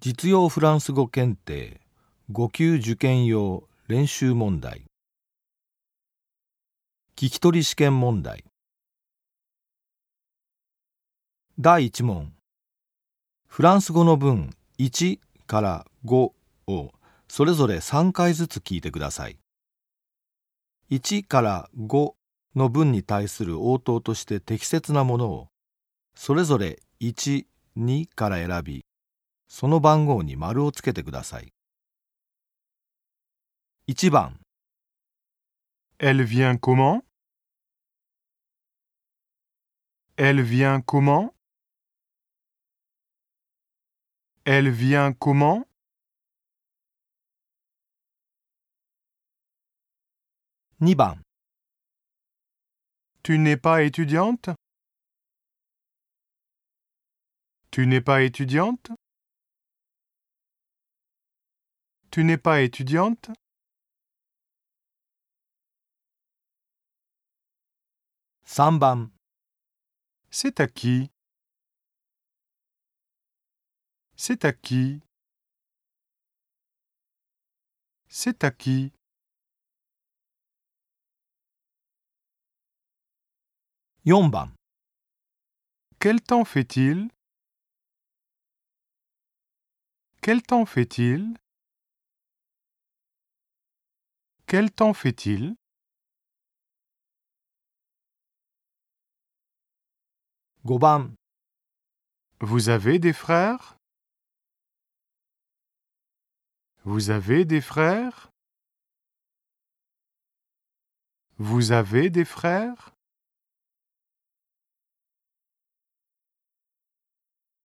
実用フランス語検定5級受験用練習問題。聞き取り試験問題。第1問。フランス語の文1から5をそれぞれ3回ずつ聞いてください。1から5の文に対する応答として適切なものをそれぞれ1、2から選び、その番号に丸をつけてください。1番。 Elle vient comment? Elle vient comment? Elle vient comment? 2番。 Tu n'es pas étudiante? Tu n'es pas étudiante? Tu n'es pas étudiante? 3番。 C'est à qui? C'est à qui? C'est à qui? 4番。 Quel temps fait-il? Quel temps fait-il? Quel temps fait-il? 5番。 Vous avez des frères? Vous avez des frères? Vous avez des frères?